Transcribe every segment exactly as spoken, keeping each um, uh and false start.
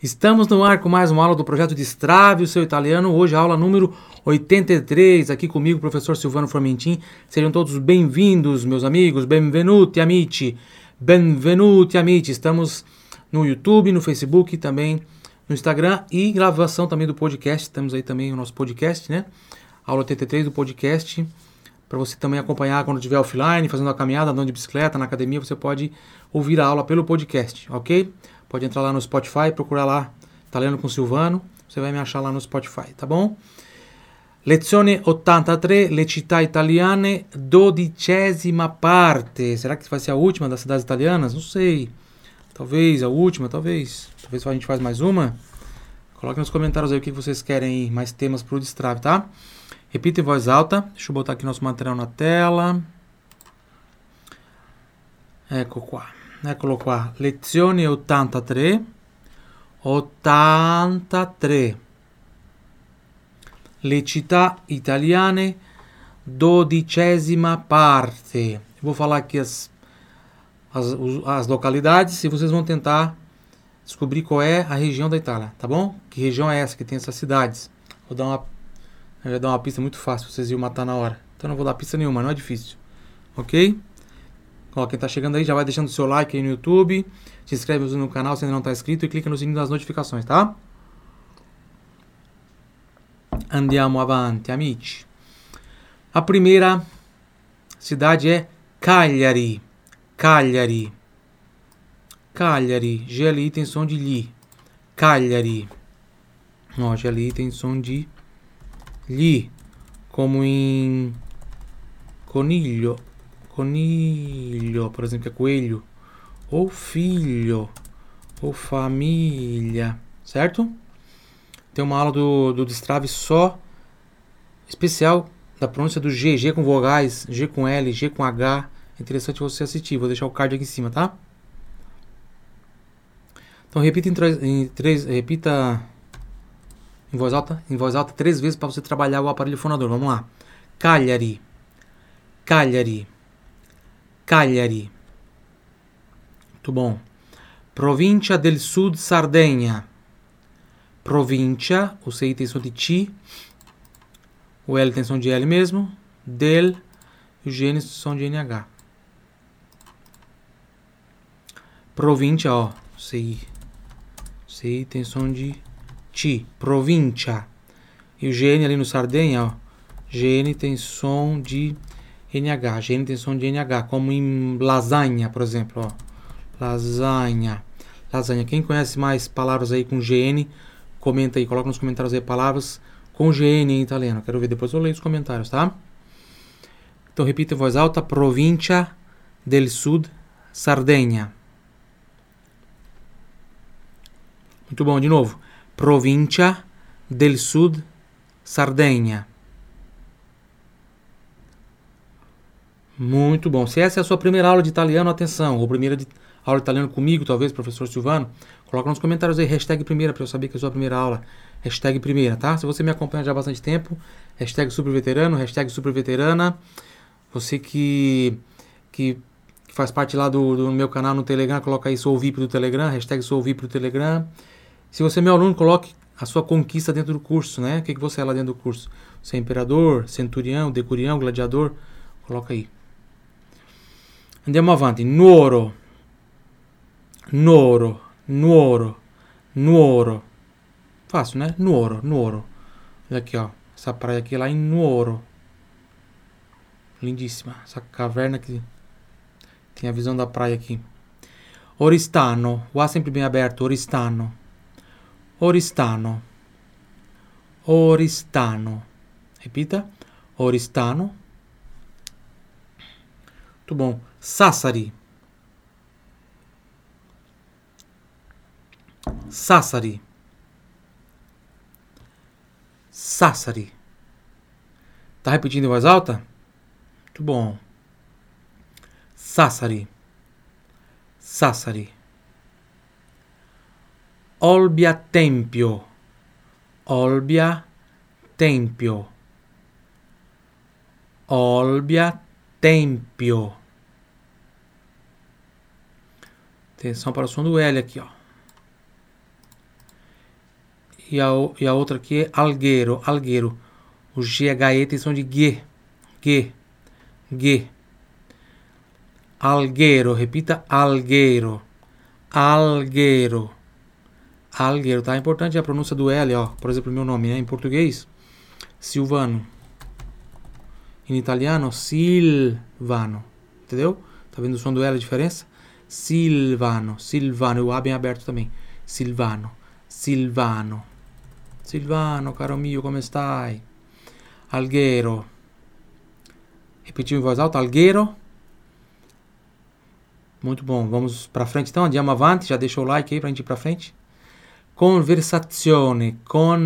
Estamos no ar com mais uma aula do projeto Destrave o seu italiano. Hoje a aula número oitenta e três, aqui comigo, o professor Silvano Formentin. Sejam todos bem-vindos, meus amigos. Benvenuti, amici. Benvenuti, amici. Estamos no YouTube, no Facebook, também no Instagram e gravação também do podcast. Temos aí também o nosso podcast, né? Aula oitenta e três do podcast. Para você também acompanhar quando estiver offline, fazendo a caminhada, andando de bicicleta, na academia, você pode ouvir a aula pelo podcast, ok? Pode entrar lá no Spotify, procurar lá Italiano com Silvano, você vai me achar lá no Spotify, tá bom? Lezione ottantatré, le città italiane, dodicesima parte. Será que vai ser a última das cidades italianas? Não sei. Talvez a última, talvez. Talvez a gente faz mais uma. Coloque nos comentários aí o que vocês querem, mais temas para o Destrave, tá? Repita em voz alta. Deixa eu botar aqui nosso material na tela. Ecco qua. Eccolo qua. Lezione ottantatré. ottantatré. Le città italiane, dodicesima parte. Vou falar aqui as, as, as localidades e vocês vão tentar descobrir qual é a região da Itália, tá bom? Que região é essa que tem essas cidades? Vou dar uma, eu vou dar uma pista muito fácil, vocês iam matar na hora. Então não vou dar pista nenhuma, não é difícil. Ok? Ó, quem tá chegando aí já vai deixando o seu like aí no YouTube, se inscreve no canal se ainda não tá inscrito e clica no sininho das notificações, tá? Andiamo avanti, amici. A primeira cidade é Cagliari. Cagliari. Cagliari. G L I tem som de li. Cagliari. Ó, G L I tem som de li. Como em coniglio. Coniglio, por exemplo, que é coelho. Ou filho. Ou família. Certo? Tem uma aula do, do Destrave só especial da pronúncia do G. G com vogais, G com L, G com H. É interessante você assistir. Vou deixar o card aqui em cima, tá? Então repita em, em três, repita em voz alta, em voz alta três vezes para você trabalhar o aparelho fonador. Vamos lá. Cagliari. Cagliari. Cagliari. Muito bom. Provincia del Sud Sardegna. Provincia, o C I tem som de T, o L tem som de L mesmo, del, e o G N som de N H. Provincia, ó, C I, C I tem som de T, provincia. E o G N ali no Sardenha, ó, G N tem som de N H, G N tem som de N H, como em lasanha, por exemplo, ó, lasanha, lasanha. Quem conhece mais palavras aí com G N, comenta aí, coloca nos comentários aí palavras com G N em italiano. Quero ver, depois eu leio os comentários, tá? Então repita em voz alta. Provincia del Sud Sardegna. Muito bom, de novo. Provincia del Sud Sardegna. Muito bom. Se essa é a sua primeira aula de italiano, atenção. Ou primeira de, aula de italiano comigo, talvez, professor Silvano, coloca nos comentários aí, hashtag primeira, para eu saber que é a sua primeira aula. Hashtag primeira, tá? Se você me acompanha já há bastante tempo, hashtag superveterano, hashtag superveterana. Você que, que, que faz parte lá do, do meu canal no Telegram, coloca aí sou V I P do Telegram, hashtag sou V I P do Telegram. Se você é meu aluno, coloque a sua conquista dentro do curso, né? O que, que você é lá dentro do curso? Você é imperador, centurião, decurião, gladiador? Coloca aí. Andiamo avanti. Nuoro. Nuoro. Nuoro. Nuoro. Fácil, né? Nuoro. Nuoro. Olha aqui, ó. Essa praia aqui é lá em Nuoro. Lindíssima. Essa caverna que tem a visão da praia aqui. Oristano. O A sempre bem aberto. Oristano. Oristano. Oristano. Repita. Oristano. Muito bom. Sassari. Sassari. Sassari. Tá repetindo em voz alta? Muito bom. Sassari. Sassari. Olbia Tempio. Olbia Tempio. Olbia Tempio. Atenção para o som do L aqui, ó. E a, e a outra aqui é algueiro, algueiro. O G e H E tem som de G. G. G. Algueiro, repita, algueiro. Algueiro. Algueiro, tá? É importante a pronúncia do L, ó. Por exemplo, meu nome, né? Em português, Silvano. Em italiano, Silvano. Entendeu? Tá vendo o som do L, a diferença? Silvano, Silvano. O A bem aberto também. Silvano, Silvano. Silvano, caro mio, come stai? Algueiro. Repetiu em voz alta, algueiro. Muito bom, vamos pra frente então, andiamo avanti, já deixa o like aí pra gente ir pra frente. Conversazione,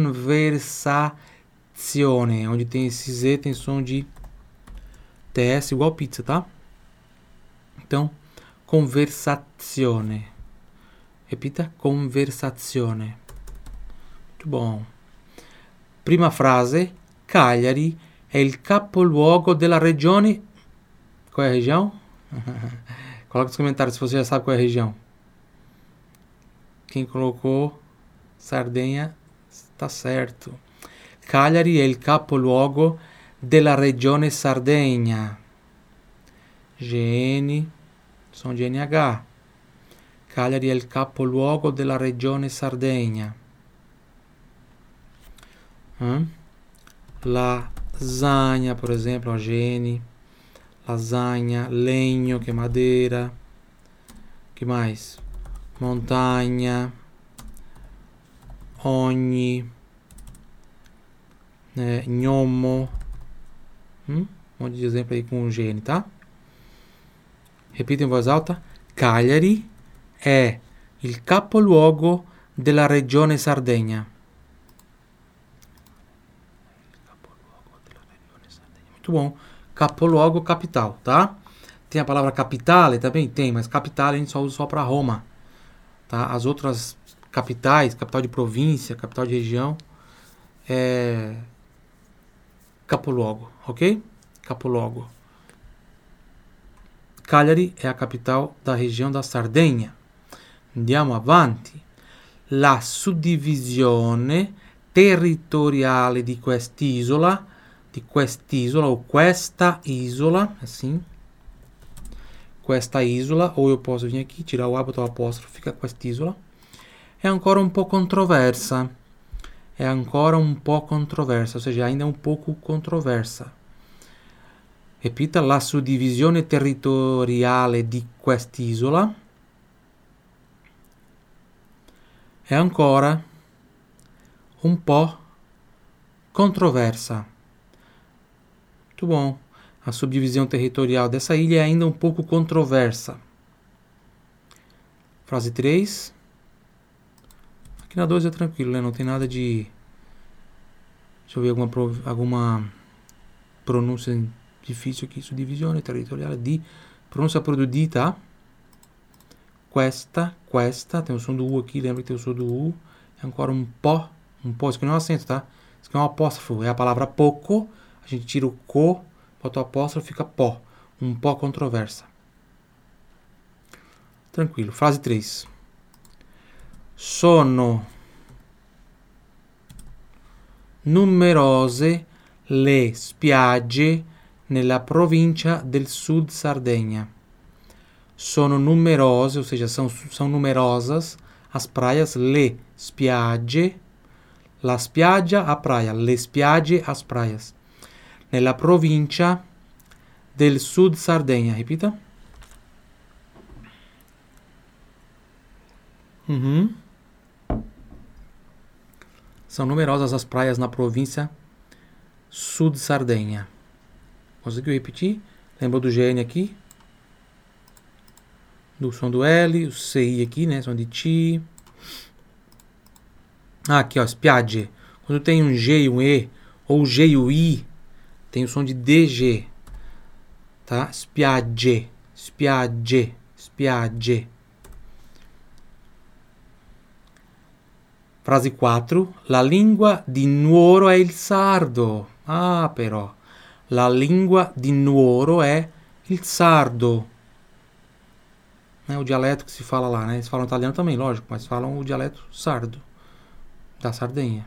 conversazione, onde tem esse Z tem som de T S igual pizza, tá? Então, conversazione. Repita, conversazione. Muito bom. Prima frase, Cagliari è il capoluogo della regione. Qual é a região? Coloca nos comentários se você já sabe qual é a região. Quem colocou Sardenha está certo. Cagliari è il capoluogo della regione Sardegna. G N, som de N H. Cagliari è il capoluogo della regione Sardegna. Hum? Lasagna, por exemplo, a G N. Lasagna, legno, que é madeira. Que mais? Montanha. Ogni. Né? Gnomo. Hum? Um monte de exemplo aí com G N, tá? Repita em voz alta. Cagliari è il capoluogo della regione Sardegna. Muito bom. Capoluogo, capital, tá? Tem a palavra capitale também? Tem, mas capital a gente só usa só para Roma, tá? As outras capitais, capital de província, capital de região, é capoluogo, ok? Capoluogo. Cagliari è a capital da região da Sardegna. Andiamo avanti. La suddivisione territoriale di quest'isola, di quest'isola o questa isola, assim. Questa isola, ou eu posso vir aqui, tirar o A, botar o apóstrofo, fica quest'isola. È ancora un po' controversa. È ancora un po' controversa, ou seja, ainda é um pouco controversa. Repita, la suddivisione territoriale di quest'isola è ancora un po' controversa. Muito bom. A subdivisão territorial dessa ilha é ainda um pouco controversa. Frase três. Aqui na dois é tranquilo, né? Não tem nada de... Deixa eu ver alguma, alguma pronúncia difícil aqui. Suddivisione territoriale di... Pronúncia por do di, tá? Questa, questa. Tem o som do U aqui, lembra que tem o som do U. É agora um pó. Um pó, isso aqui não é um acento, tá? Isso aqui é um apóstrofo. É a palavra pouco. A gente tira o co, bota o apóstrofo, fica pó. Um pó controversa. Tranquilo. Frase três. Sono numerose le spiagge nella provincia del Sud Sardegna. Sono numerose, ou seja, são, são numerosas as praias, le spiagge, la spiaggia, a praia, le spiagge, as praias. Nella provincia del Sud Sardegna, repita. Uhum. São numerosas as praias na província Sud Sardegna. Conseguiu repetir? Lembrou do G N aqui? Do som do L, o C I aqui, né? Som de ti. Ah, aqui, ó, spiagge. Quando tem um G e um E, ou G e o I, tem o som de D G. Tá? Spiagge, spiagge, spiagge. Frase quattro. La lingua di Nuoro è il sardo. Ah, però. La lingua di Nuoro è il sardo. É o dialeto que se fala lá, né? Eles falam italiano também, lógico, mas falam o dialeto sardo. da Sardegna.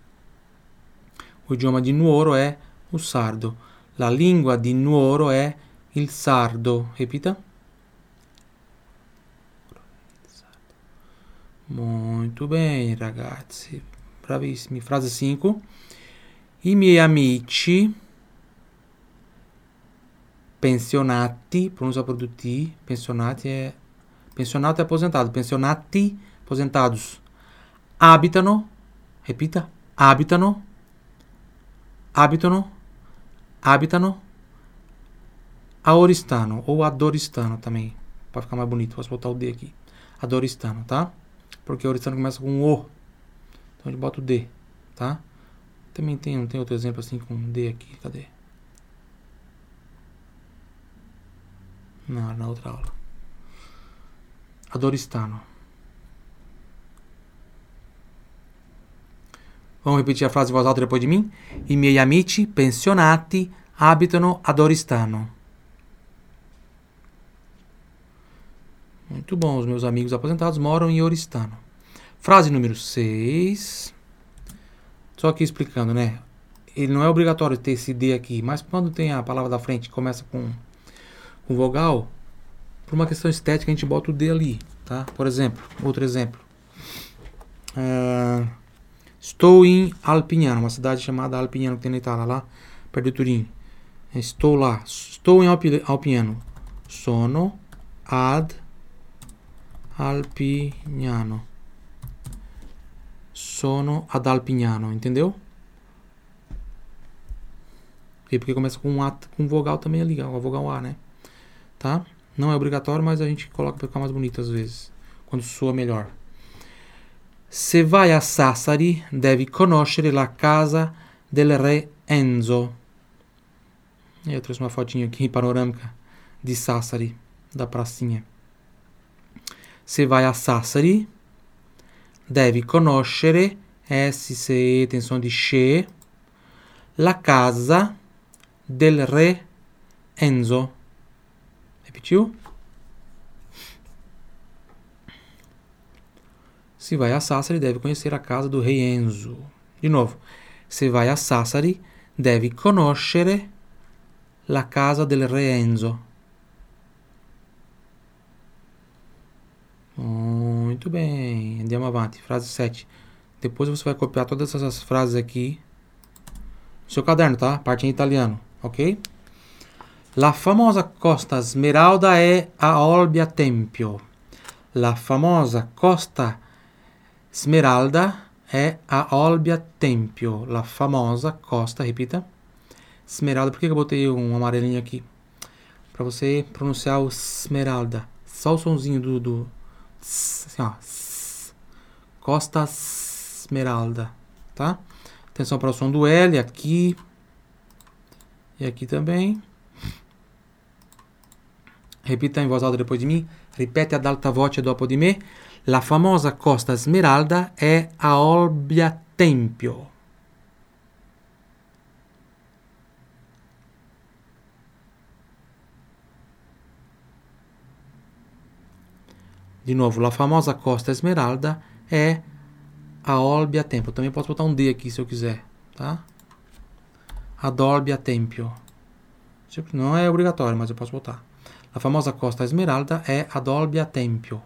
O idioma di Nuoro è o sardo. La lingua di Nuoro è il sardo. Repita. Muito bem, ragazzi. Bravissimi. Frase cinque. I miei amici pensionati, pronuncia per tutti, pensionati è pensionato e aposentato, pensionati, aposentados, abitano, repita, abitano, abitano, abitano a Oristano ou ad Oristano também, para ficar mais bonito, posso botar o D aqui, ad Oristano, tá? Porque Oristano começa com O, então a gente bota o D, tá? Também tem, não tem outro exemplo assim com D aqui, cadê? Não, na outra aula. Ad Oristano. Vamos repetir a frase em voz alta depois de mim? I miei amici pensionati abitano ad Oristano. Muito bom, os meus amigos aposentados moram em Oristano. Frase número seis. Só aqui explicando, né? Ele não é obrigatório ter esse D aqui, mas quando tem a palavra da frente que começa com, com vogal, por uma questão estética a gente bota o D ali, tá? Por exemplo, outro exemplo. Uh, estou em Alpignano, uma cidade chamada Alpignano que tem na Itália, lá perto de Turim. Estou lá. Estou em Alpi, Alpignano. Sono ad Alpignano. Sono ad Alpignano, entendeu? E porque começa com um A, com vogal também ali, a vogal A, né? Tá? Não é obrigatório, mas a gente coloca para ficar mais bonito às vezes, quando soa melhor. Se vai a Sassari, devi conoscere la casa del re Enzo. E eu trouxe uma fotinha aqui panorâmica de Sassari, da pracinha. Se vai a Sassari, devi conoscere, S, C, E, tem som de che, la casa del re Enzo. Repetiu? Se vai a Sassari, deve conhecer a casa do rei Enzo. De novo. Se vai a Sassari, deve conoscere la casa del re Enzo. Muito bem. Andiamo avanti. Frase sete. Depois você vai copiar todas essas frases aqui no seu caderno, tá? Parte em italiano, ok? La famosa Costa Smeralda è a Olbia Tempio. La famosa Costa Smeralda è a Olbia Tempio. La famosa Costa, repita. Smeralda, por que eu botei um amarelinho aqui? Para você pronunciar o Smeralda. Só o sonzinho do... do assim, ó. Costa Smeralda, tá? Atenção para o som do L aqui. E aqui também. Repita in voce alta depois de mim. Ripete ad alta voce dopo di me. La famosa Costa Smeralda è a Olbia Tempio. Di nuovo, la famosa Costa Smeralda è a Olbia Tempio. Também posso botar um D aqui se eu quiser, tá? Ad Olbia Tempio. Não é obrigatório, mas eu posso botar. La famosa Costa Smeralda è ad Olbia Tempio.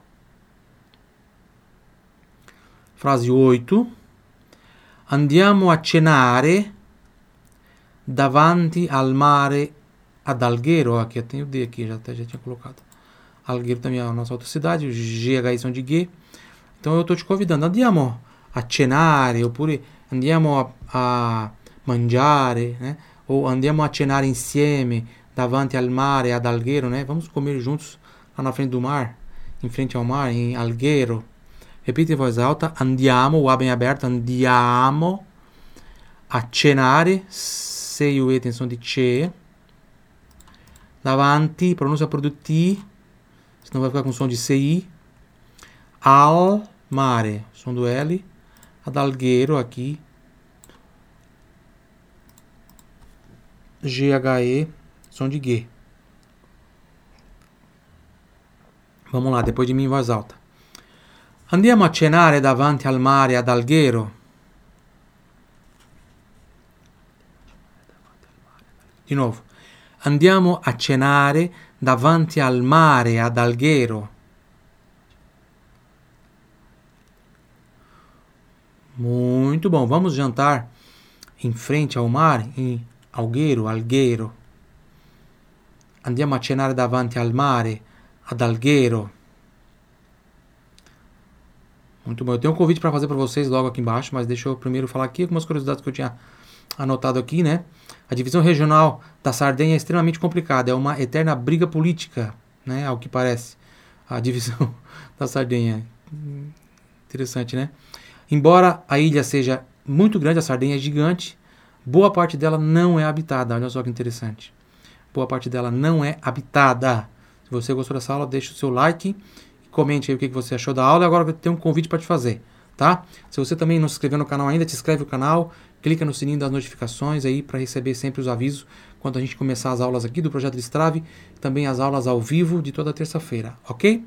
Frase oito. Andiamo a cenare davanti al mare ad Alghero. Aqui eu tenho o D aqui, já, até já tinha colocado. Alghero também é a nossa outra cidade, os G H I são de G. Então eu estou te convidando. Andiamo a cenare, oppure andiamo a, a mangiare, né? Ou andiamo a cenare insieme davanti al mare ad Alghero, né? Vamos comer juntos lá na frente do mar, em frente ao mar, em Alghero. Repita em voz alta. Andiamo, o A bem aberto. Andiamo a cenare. C e o E tem som de che. Davanti, pronúncia por do T, senão vai ficar com som de C I. Al mare, som do L. Ad Alghero aqui. G H E, som de G. Vamos lá, depois de mim em voz alta. Andiamo a cenare davanti al mare ad Alghero. Di novo. Andiamo a cenare davanti al mare ad Alghero. Muito bom. Vamos jantar em frente ao mar, em Alghero, Alghero. Andiamo a cenare davanti al mare ad Alghero. Muito bom. Eu tenho um convite para fazer para vocês logo aqui embaixo, mas deixa eu primeiro falar aqui algumas curiosidades que eu tinha anotado aqui, né? A divisão regional da Sardenha é extremamente complicada, é uma eterna briga política, né? Ao que parece, a divisão da Sardenha. Interessante, né? Embora a ilha seja muito grande, a Sardenha é gigante, boa parte dela não é habitada. Olha só que interessante. Boa parte dela não é habitada. Se você gostou dessa aula, deixa o seu like. Comente aí o que você achou da aula. Agora eu tenho um convite para te fazer, tá? Se você também não se inscreveu no canal ainda, te inscreve no canal, clica no sininho das notificações aí para receber sempre os avisos quando a gente começar as aulas aqui do Projeto Destrave, também as aulas ao vivo de toda terça-feira, ok?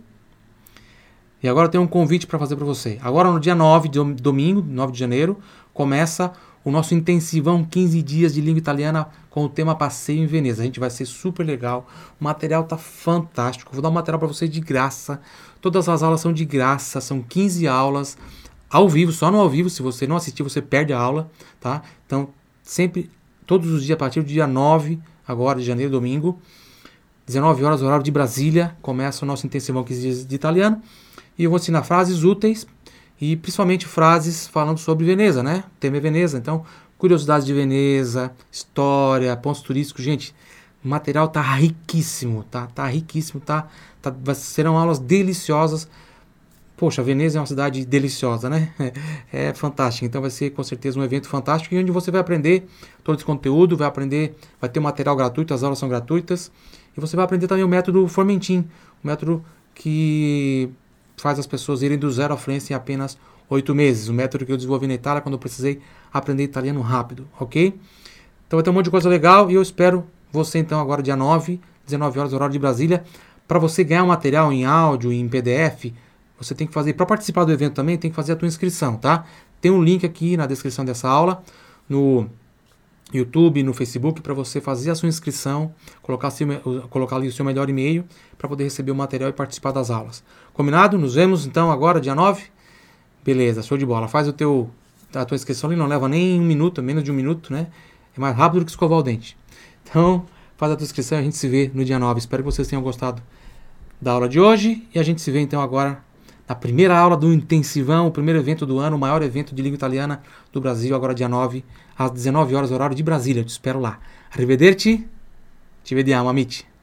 E agora eu tenho um convite para fazer para você. Agora no dia nove, de domingo, nove de janeiro, começa o nosso intensivão quinze dias de língua italiana com o tema Passeio em Veneza. A gente vai ser super legal, o material tá fantástico, vou dar um material para vocês de graça, todas as aulas são de graça, são quinze aulas, ao vivo, só no ao vivo, se você não assistir você perde a aula, tá? Então, sempre, todos os dias, a partir do dia nove, agora de janeiro, domingo, dezenove horas, horário de Brasília, começa o nosso intensivão quinze dias de italiano, e eu vou ensinar frases úteis, e principalmente frases falando sobre Veneza, né? O tema é Veneza, então, curiosidades de Veneza, história, pontos turísticos, gente, o material tá riquíssimo, tá? Tá riquíssimo, tá? tá serão aulas deliciosas. Poxa, Veneza é uma cidade deliciosa, né? É, é fantástica. Então vai ser com certeza um evento fantástico e onde você vai aprender todo esse conteúdo, vai aprender, vai ter um material gratuito, as aulas são gratuitas. E você vai aprender também o método Formentin, o método que faz as pessoas irem do zero à fluência em apenas oito meses. O método que eu desenvolvi na Itália quando eu precisei aprender italiano rápido, ok? Então vai ter um monte de coisa legal e eu espero você então agora dia nove, dezenove horas, horário de Brasília, para você ganhar um material em áudio, em P D F. Você tem que fazer, para participar do evento também, tem que fazer a tua inscrição, tá? Tem um link aqui na descrição dessa aula, no YouTube, no Facebook, para você fazer a sua inscrição, colocar, seu, colocar ali o seu melhor e-mail, para poder receber o material e participar das aulas. Combinado? Nos vemos então agora, dia nove? Beleza, show de bola. Faz o teu, a tua inscrição ali, não leva nem um minuto, menos de um minuto, né? É mais rápido do que escovar o dente. Então, faz a tua inscrição e a gente se vê no dia nove. Espero que vocês tenham gostado da aula de hoje e a gente se vê então agora na primeira aula do intensivão, o primeiro evento do ano, o maior evento de língua italiana do Brasil, agora dia nove, às dezenove horas, horário de Brasília. Eu te espero lá. Arrivederci, ci vediamo, amici.